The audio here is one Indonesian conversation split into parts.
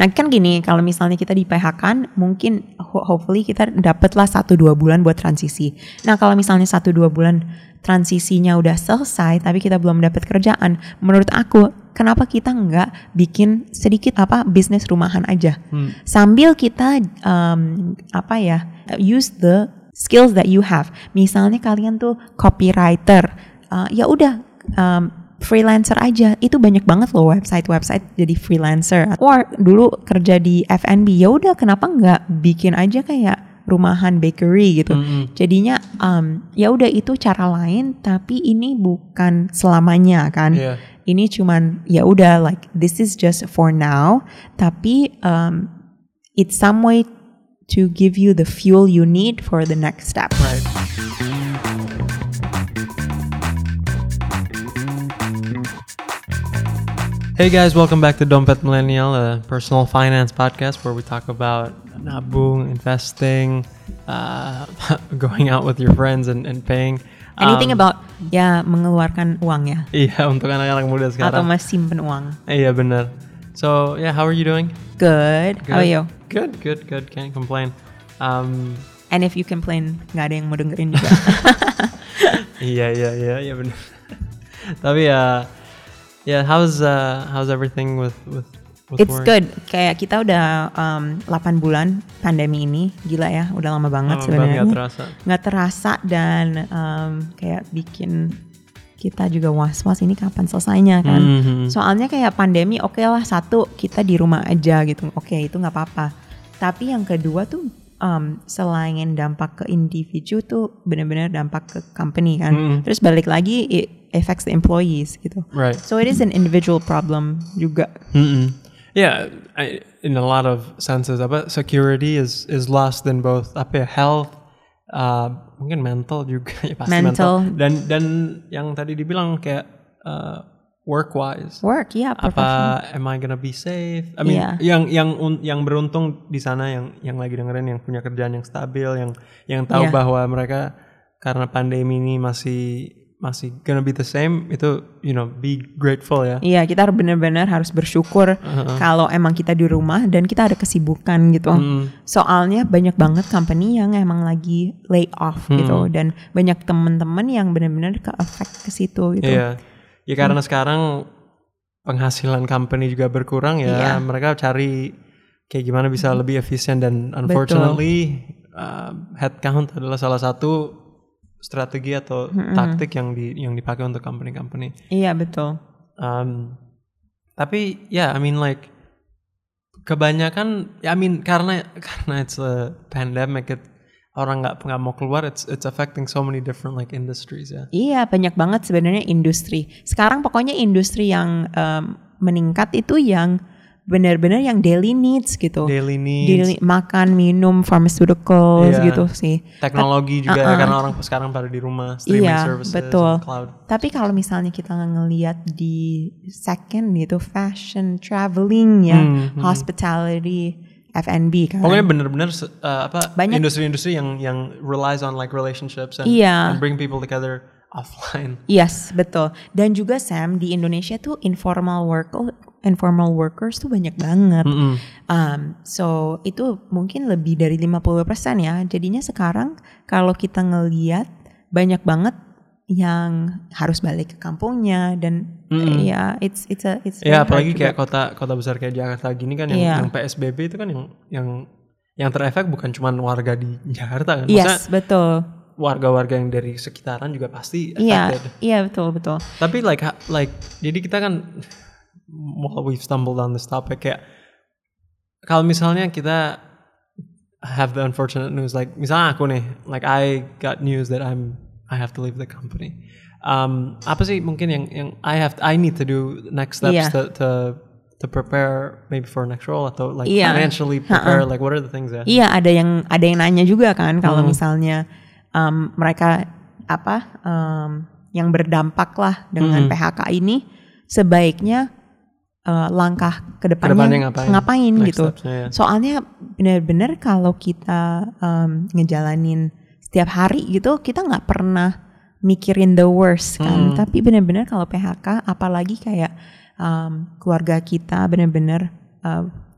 Nah kan gini, kalau misalnya kita di PHK kan mungkin hopefully kita dapatlah 1-2 bulan buat transisi. Nah kalau misalnya 1-2 bulan transisinya udah selesai tapi kita belum dapat kerjaan, menurut aku kenapa kita nggak bikin sedikit bisnis rumahan aja sambil kita use the skills that you have. Misalnya kalian tuh copywriter, ya udah freelancer aja, itu banyak banget loh website jadi freelancer. Or dulu kerja di F&B, ya udah kenapa nggak bikin aja kayak rumahan bakery gitu. Jadinya ya udah itu cara lain, tapi ini bukan selamanya kan. Ini cuman ya udah like this is just for now, tapi it's some way to give you the fuel you need for the next step. Right. Hey guys, welcome back to Dompet Millennial, a personal finance podcast where we talk about nabung, investing, going out with your friends and paying. Anything about mengeluarkan uang ya. Iya, untuk anak-anak muda sekarang. Atau masih simpen uang. Iya benar. So yeah, how are you doing? Good. How are you? Good. Can't complain. And if you complain, nggak ada yang mau dengerin juga. Iya benar. Tapi yeah, how's everything with It's work? good. Kayak kita udah 8 bulan pandemi ini, gila ya, udah lama banget sebenarnya. Nggak terasa dan kayak bikin kita juga was-was ini kapan selesainya kan. Soalnya kayak pandemi oke lah, satu kita di rumah aja gitu, oke itu nggak apa-apa. Tapi yang kedua tuh selain dampak ke individu tuh benar-benar dampak ke company kan. Terus balik lagi it affects the employees gitu. Right. So it is an individual problem juga. Yeah, in a lot of senses, security is lost in both health, mungkin mental juga ya pasti mental. Dan yang tadi dibilang kayak work-wise. Work, yeah, professional. Am I gonna be safe? I mean, yang beruntung di sana yang lagi dengerin yang punya kerjaan yang stabil, yang tahu bahwa mereka karena pandemi ini masih gonna be the same, itu be grateful ya. Iya, kita benar-benar harus bersyukur kalau emang kita di rumah dan kita ada kesibukan gitu. Soalnya banyak banget company yang emang lagi lay off gitu, dan banyak teman-teman yang benar-benar ke-affect ke situ gitu. Iya. Ya karena sekarang penghasilan company juga berkurang ya, mereka cari kayak gimana bisa lebih efisien, dan unfortunately headcount adalah salah satu strategi atau taktik yang dipakai untuk company-company. Iya betul. Tapi I mean like kebanyakan karena it's a pandemic, orang nggak mau keluar, it's affecting so many different like industries ya. Iya banyak banget sebenarnya industri. Sekarang pokoknya industri yang meningkat itu yang benar-benar yang daily needs gitu. Daily makan, minum, pharmaceuticals gitu sih. Teknologi juga karena orang sekarang pada di rumah, streaming services, betul. Cloud. Tapi kalau misalnya kita ngelihat di second gitu, fashion, traveling ya, hospitality, F&B kan. Pokoknya benar-benar industri-industri yang relies on like relationships and bring people together offline. Yes, betul. Dan juga Sam, di Indonesia tuh informal workers tuh banyak banget. So itu mungkin lebih dari 50% ya. Jadinya sekarang kalau kita ngelihat banyak banget yang harus balik ke kampungnya, dan it's apalagi kayak kota besar kayak Jakarta gini kan yang PSBB itu kan yang terefek bukan cuma warga di Jakarta kan. Yes, betul. Warga-warga yang dari sekitaran juga pasti affected. Iya, betul. Tapi like jadi kita kan we've stumbled on this topic, kayak kalau misalnya kita have the unfortunate news, like misalnya aku nih, like I got news that I have to leave the company. Apa sih mungkin yang I need to do next steps to prepare maybe for next role atau like financially prepare, like what are the things ya? Iya, ada yang nanya juga kan kalau misalnya mereka yang berdampak lah dengan PHK ini, sebaiknya langkah kedepannya ngapain gitu. Soalnya benar-benar kalau kita ngejalanin setiap hari gitu, kita nggak pernah mikirin the worst kan. Tapi benar-benar kalau PHK, apalagi kayak keluarga kita benar-benar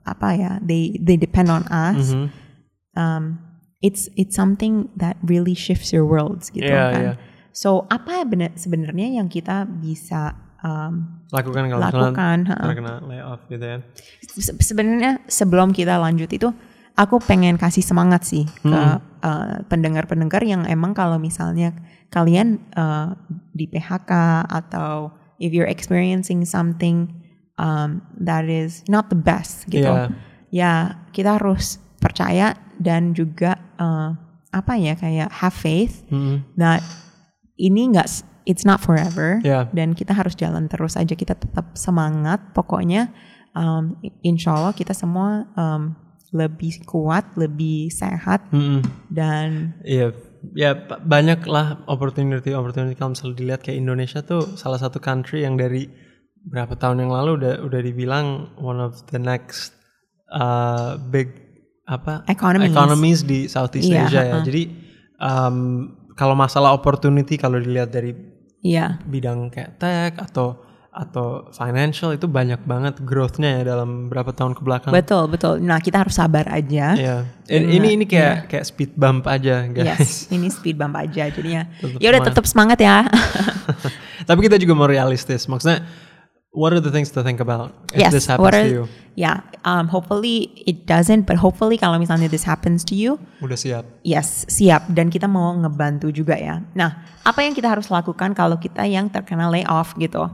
they depend on us. It's something that really shifts your worlds gitu kan. So apa sebenarnya yang kita bisa lakukan kalau misalnya kena layoff gitu ya? Sebenarnya sebelum kita lanjut itu, aku pengen kasih semangat sih ke pendengar-pendengar yang emang kalau misalnya kalian di PHK atau if you're experiencing something that is not the best gitu, ya kita harus percaya dan juga kayak have faith that ini it's not forever, dan kita harus jalan terus aja, kita tetap semangat pokoknya. Insya Allah kita semua lebih kuat, lebih sehat, dan banyak lah opportunity kalau misalnya dilihat kayak Indonesia tuh salah satu country yang dari berapa tahun yang lalu udah dibilang one of the next big economies di Southeast Asia ya. Jadi kalau masalah opportunity kalau dilihat dari bidang kayak tech atau financial itu banyak banget growth-nya ya dalam berapa tahun ke belakang. Betul. Nah, kita harus sabar aja. Ini kayak speed bump aja, guys. Yes, ini speed bump aja. Jadinya ya udah tetap semangat ya. Tapi kita juga mau realistis. Maksudnya what are the things to think about if this happens to you? Hopefully it doesn't, but hopefully kalau misalnya this happens to you, udah siap. Yes, siap, dan kita mau ngebantu juga ya. Nah, apa yang kita harus lakukan kalau kita yang terkena layoff gitu?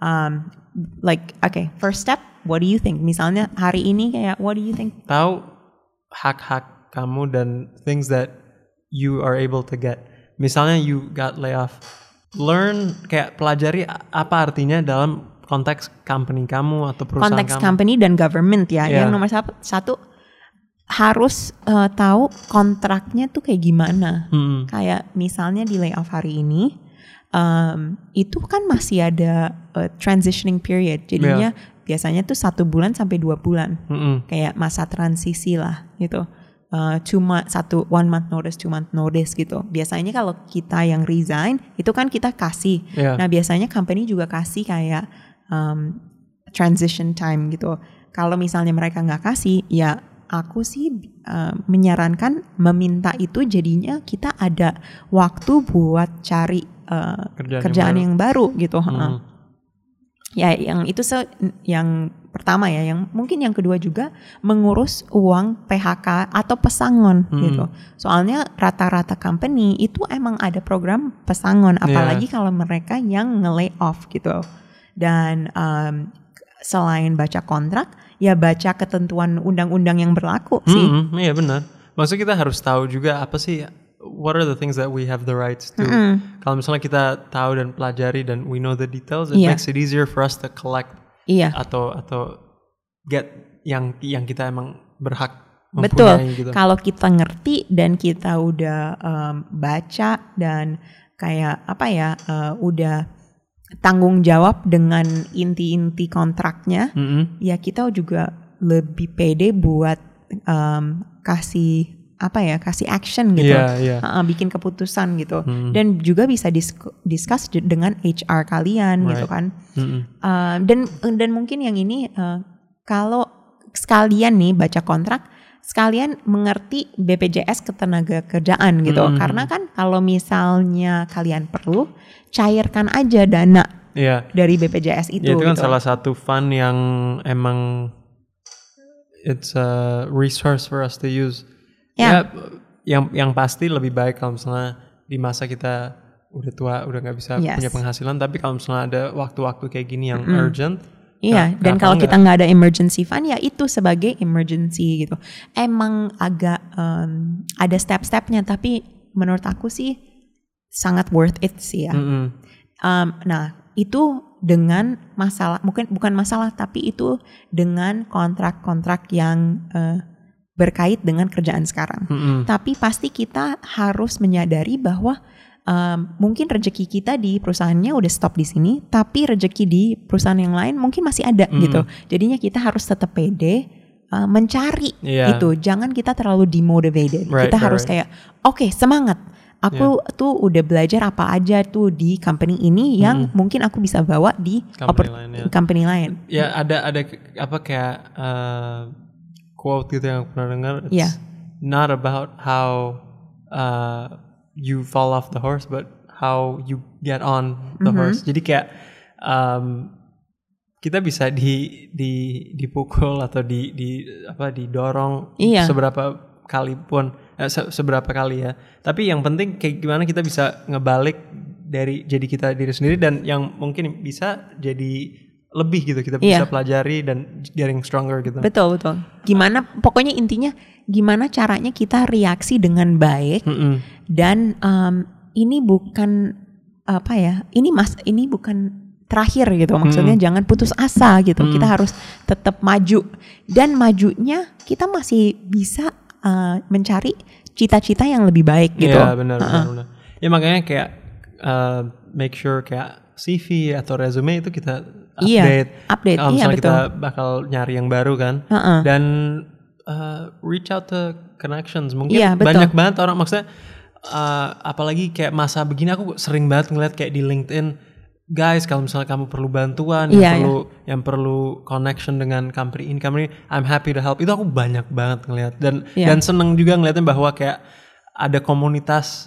First step, what do you think? Misalnya hari ini kayak what do you think? Tahu hak-hak kamu dan things that you are able to get. Misalnya you got layoff, learn, kayak pelajari apa artinya dalam konteks company kamu atau perusahaan konteks kamu. Company dan government ya. Yang nomor satu harus tahu kontraknya tuh kayak gimana. Kayak misalnya di layoff hari ini, itu kan masih ada transitioning period. Jadinya biasanya tuh 1 bulan sampai 2 bulan. Kayak masa transisi lah gitu. Cuma 1 month notice, 2 month notice gitu. Biasanya kalau kita yang resign itu kan kita kasih. Nah biasanya company juga kasih kayak transition time gitu. Kalau misalnya mereka nggak kasih, ya aku sih menyarankan meminta itu, jadinya kita ada waktu buat cari kerjaan yang baru gitu. Ya yang itu yang pertama ya. Yang mungkin yang kedua juga mengurus uang PHK atau pesangon gitu. Soalnya rata-rata company itu emang ada program pesangon, apalagi kalau mereka yang nge-lay off gitu. Dan selain baca kontrak, ya baca ketentuan undang-undang yang berlaku sih. Iya benar. Maksudnya kita harus tahu juga apa sih, what are the things that we have the rights to. Kalau misalnya kita tahu dan pelajari dan we know the details, it makes it easier for us to collect atau get yang kita emang berhak mempunyai. Gitu. Kalau kita ngerti dan kita udah baca dan kayak udah tanggung jawab dengan inti-inti kontraknya, ya kita juga lebih pede buat kasih action gitu, bikin keputusan gitu, dan juga bisa discuss dengan HR kalian gitu kan. Dan mungkin yang ini kalau sekalian nih baca kontrak, sekalian mengerti BPJS Ketenagakerjaan gitu. Karena kan kalau misalnya kalian perlu, cairkan aja dana dari BPJS itu. Ya, itu kan gitu. salah satu fund yang emang it's a resource for us to use. Ya, yang pasti lebih baik kalau misalnya di masa kita udah tua, udah nggak bisa punya penghasilan. Tapi kalau misalnya ada waktu-waktu kayak gini yang urgent. Iya, dan kalau kita nggak ada emergency fund, ya itu sebagai emergency gitu. Emang agak ada step-stepnya, tapi menurut aku sih sangat worth it sih ya. Nah, itu dengan masalah, bukan masalah, tapi itu dengan kontrak-kontrak yang berkait dengan kerjaan sekarang. Tapi pasti kita harus menyadari bahwa mungkin rezeki kita di perusahaannya udah stop di sini, tapi rezeki di perusahaan yang lain mungkin masih ada gitu. Jadinya kita harus tetap pede mencari itu. Jangan kita terlalu demotivated. Kita harus kayak oke, semangat. Aku tuh udah belajar apa aja tuh di company ini yang mungkin aku bisa bawa di company lain. Ya ada apa kayak quote gitu yang aku pernah dengar. It's Yeah. not about how you fall off the horse, but how you get on the horse. Jadi kayak kita bisa dipukul atau didorong Iya. seberapa kali ya. Tapi yang penting kayak gimana kita bisa ngebalik dari jadi kita diri sendiri, dan yang mungkin bisa jadi lebih gitu, kita bisa pelajari dan getting stronger gitu. Betul. Gimana, pokoknya intinya gimana caranya kita reaksi dengan baik. Dan ini bukan ini bukan terakhir gitu. Maksudnya jangan putus asa gitu. Kita harus tetap maju, dan majunya kita masih bisa mencari cita-cita yang lebih baik gitu. Iya, benar. Ya makanya kayak make sure kayak CV atau resume itu kita update. Kalau misalnya kita bakal nyari yang baru kan, dan reach out to connections. Mungkin banyak banget orang, maksudnya apalagi kayak masa begini aku sering banget ngeliat kayak di LinkedIn, guys, kalau misalnya kamu perlu bantuan, yang perlu connection dengan company ini, I'm happy to help. Itu aku banyak banget ngeliat, dan seneng juga ngeliatnya bahwa kayak ada komunitas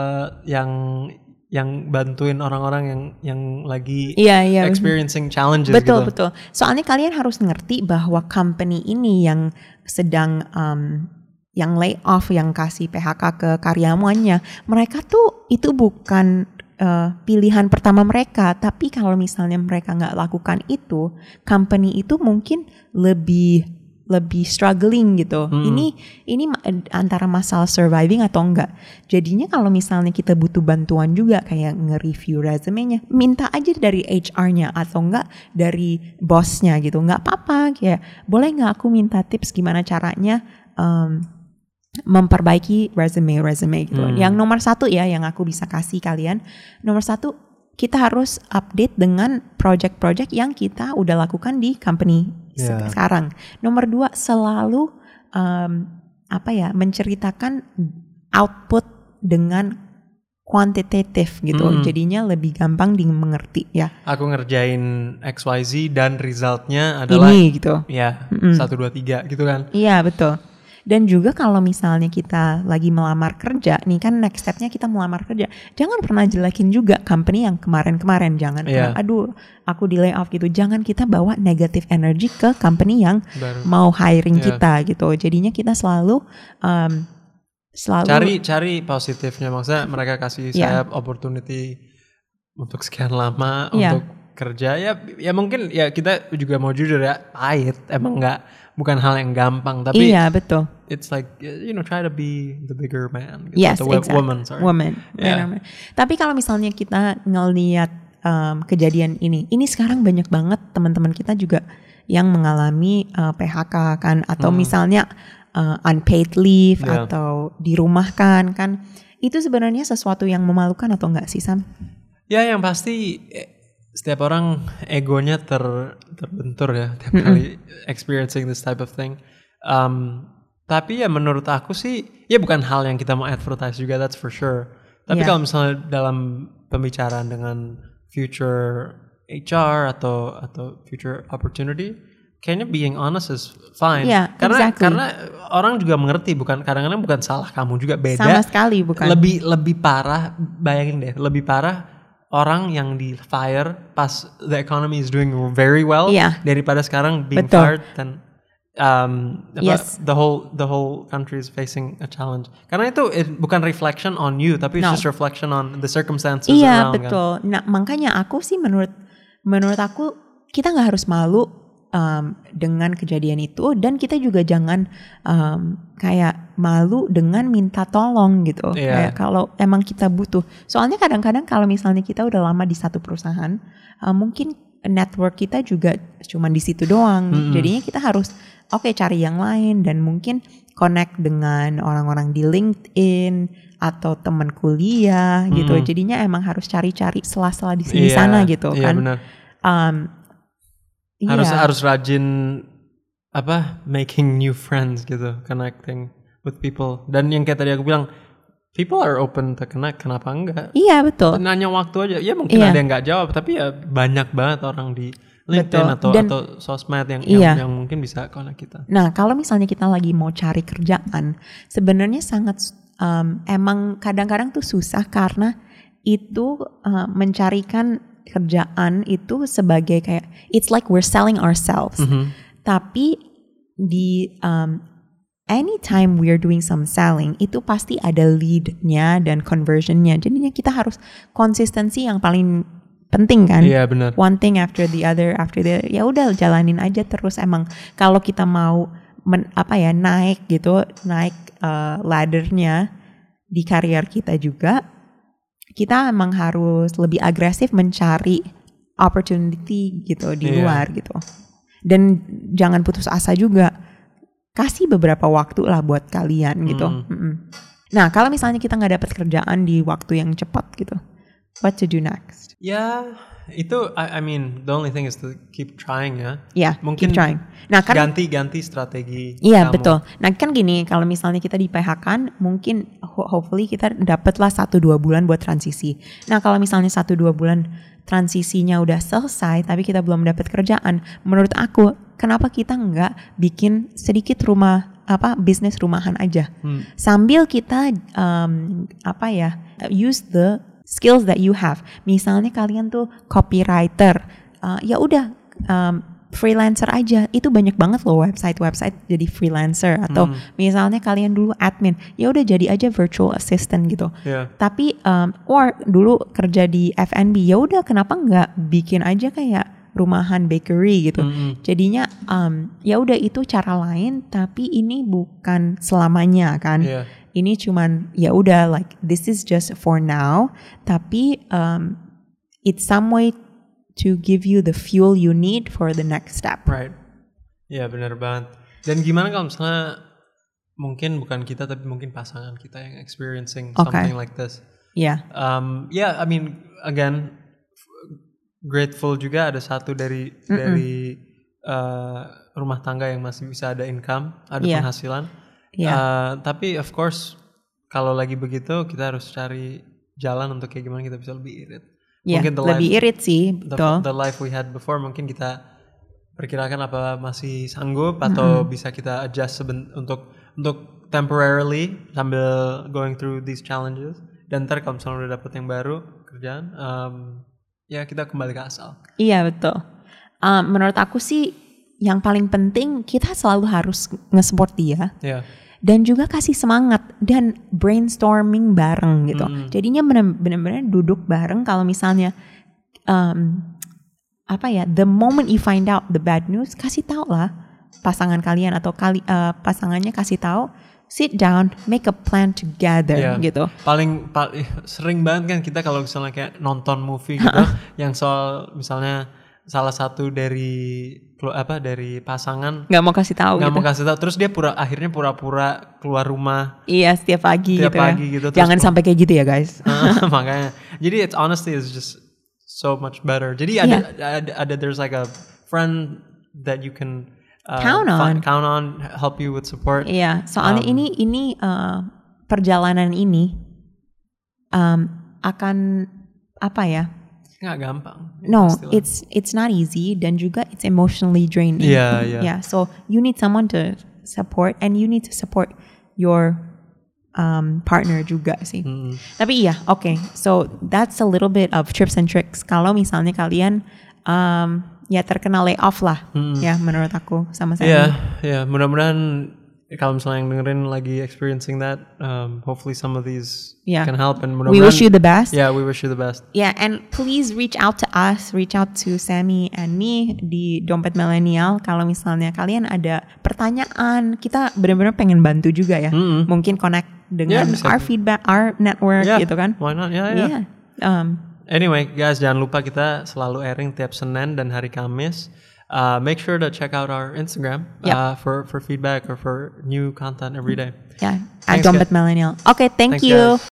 yang bantuin orang-orang yang lagi experiencing challenges gitu. Betul. Soalnya kalian harus ngerti bahwa company ini yang sedang yang lay off, yang kasih PHK ke karyawannya, mereka tuh itu bukan pilihan pertama mereka. Tapi kalau misalnya mereka nggak lakukan itu, company itu mungkin lebih struggling gitu. Ini antara masalah surviving atau enggak. Jadinya kalau misalnya kita butuh bantuan juga kayak nge-review resume-nya, minta aja dari HR-nya atau enggak dari bosnya gitu. Enggak apa-apa, kayak boleh enggak aku minta tips gimana caranya memperbaiki resume gitu. Yang nomor 1 ya yang aku bisa kasih kalian, nomor 1 kita harus update dengan project-project yang kita udah lakukan di company sekarang. Nomor 2, selalu menceritakan output dengan kuantitatif gitu. Jadinya lebih gampang dimengerti ya. Aku ngerjain XYZ dan resultnya adalah ini gitu. Ya, 1 2 3 gitu kan. Iya, betul. Dan juga kalau misalnya kita lagi melamar kerja, nih kan next step-nya kita melamar kerja, jangan pernah jelekin juga company yang kemarin-kemarin. Jangan pernah, aduh aku di layoff gitu. Jangan kita bawa negative energy ke company yang mau hiring kita gitu. Jadinya kita selalu cari positifnya. Maksudnya mereka kasih saya opportunity untuk sekian lama untuk kerja. Ya mungkin ya kita juga mau jujur ya, pahit. Emang bukan hal yang gampang, tapi betul. It's like try to be the bigger man gitu. Yes, exactly. Woman. Yeah. Tapi kalau misalnya kita ngelihat kejadian ini sekarang banyak banget teman-teman kita juga yang mengalami PHK kan, atau misalnya unpaid leave atau dirumahkan kan. Itu sebenarnya sesuatu yang memalukan atau enggak sih, Sam? Ya, yang pasti setiap orang egonya terbentur ya tiap kali experiencing this type of thing. Tapi ya menurut aku sih ya bukan hal yang kita mau advertise juga, that's for sure. Tapi kalau misalnya dalam pembicaraan dengan future HR atau future opportunity, kayaknya being honest is fine. Karena orang juga mengerti, kadang-kadang bukan salah kamu juga, beda. Sama sekali bukan. Lebih parah, bayangin deh, lebih parah orang yang di fire pas the economy is doing very well daripada sekarang being fired dan the whole country is facing a challenge. Karena itu bukan reflection on you, tapi it's just reflection on the circumstances around. Iya, betul. Kan? Nah, makanya aku sih menurut aku kita nggak harus malu dengan kejadian itu, dan kita juga jangan kayak malu dengan minta tolong gitu. Kayak kalau emang kita butuh. Soalnya kadang-kadang kalau misalnya kita udah lama di satu perusahaan, mungkin network kita juga cuma di situ doang. Jadinya kita harus cari yang lain, dan mungkin connect dengan orang-orang di LinkedIn atau teman kuliah gitu. Jadinya emang harus cari-cari sela-sela di sini sana gitu kan. Benar. Harus rajin making new friends gitu, connecting with people. Dan yang kayak tadi aku bilang, people are open to connect, kenapa enggak? Iya, betul. Nanya waktu aja. Ya mungkin ada yang enggak jawab, tapi ya banyak banget orang di LinkedIn Betul. atau sosmed yang mungkin bisa connect kita. Nah, kalau misalnya kita lagi mau cari kerjaan, sebenarnya sangat emang kadang-kadang tuh susah karena itu mencarikan kerjaan itu sebagai kayak it's like we're selling ourselves. Tapi di anytime we're doing some selling itu pasti ada lead-nya dan conversion-nya. Jadinya kita harus konsistensi yang paling penting kan. Iya, benar. One thing after the other. Ya udah jalanin aja terus. Emang kalau kita mau naik ladder-nya di karir kita juga, kita emang harus lebih agresif mencari opportunity gitu di luar gitu. Dan jangan putus asa juga. Kasih beberapa waktu lah buat kalian gitu. Nah, kalau misalnya kita nggak dapat kerjaan di waktu yang cepat gitu, what to do next? Ya, itu I mean the only thing is to keep trying ya. Ya, mungkin keep trying. Nah, kan ganti strategi. Iya, kamu. betul. Nah, kan gini, kalau misalnya kita di PHK kan mungkin hopefully kita dapatlah 1-2 bulan buat transisi. Nah, kalau misalnya 1-2 bulan transisinya udah selesai tapi kita belum dapat kerjaan, menurut aku kenapa kita nggak bikin sedikit bisnis rumahan aja sambil kita use the skills that you have. Misalnya kalian tuh copywriter, ya udah freelancer aja. Itu banyak banget loh website jadi freelancer. Atau misalnya kalian dulu admin, ya udah jadi aja virtual assistant gitu. Tapi or dulu kerja di F&B, ya udah kenapa nggak bikin aja kayak rumahan bakery gitu. Jadinya ya udah itu cara lain, tapi ini bukan selamanya kan. Ini cuman ya udah like this is just for now, tapi it's some way to give you the fuel you need for the next step. Right. Ya benar banget. Dan gimana kalau misalnya mungkin bukan kita tapi mungkin pasangan kita yang experiencing something like this. Yeah. I mean again grateful juga ada satu dari rumah tangga yang masih bisa ada income, ada penghasilan. Tapi of course kalau lagi begitu kita harus cari jalan untuk kayak gimana kita bisa lebih irit. Mungkin lebih irit sih, betul. The life we had before mungkin kita perkirakan apa masih sanggup atau bisa kita adjust untuk temporarily sambil going through these challenges. Dan ntar kalau misalnya udah dapet yang baru kerjaan, ya kita kembali ke asal. Iya betul. Menurut aku sih yang paling penting kita selalu harus nge-support dia. Dan juga kasih semangat dan brainstorming bareng gitu. Jadinya benar-benar duduk bareng. Kalau misalnya the moment you find out the bad news, kasih tahu lah pasangan kalian atau pasangannya kasih tahu. Sit down, make a plan together gitu. Paling sering banget kan kita kalau misalnya kayak nonton movie gitu, yang soal misalnya salah satu dari pasangan nggak mau kasih tahu terus dia akhirnya pura-pura keluar rumah setiap pagi gitu. Jangan sampai kayak gitu ya guys. Makanya jadi it's just so much better. Jadi ada there's like a friend that you can count on, help you with support. Soalnya ini perjalanan ini akan nggak gampang. No, it's not easy dan juga it's emotionally draining. Yeah. So you need someone to support and you need to support your partner juga sih. Tapi okay. So that's a little bit of tips and tricks. Kalau misalnya kalian terkena layoff lah, menurut aku sama saya. Iya. Mudah-mudahan kalau misalnya yang dengerin lagi experiencing that, hopefully some of these can help. And we wish you the best. Yeah, we wish you the best. Yeah, and please reach out to us, reach out to Sammy and me di Dompet Millennial. Kalau misalnya kalian ada pertanyaan, kita benar-benar pengen bantu juga ya. Mungkin connect dengan our feedback, our network gitu kan. Why not? Yeah. Anyway, guys, jangan lupa kita selalu airing tiap Senin dan hari Kamis. Make sure to check out our Instagram for feedback or for new content every day. At Dompet Millennial. Okay, thank you. Guys.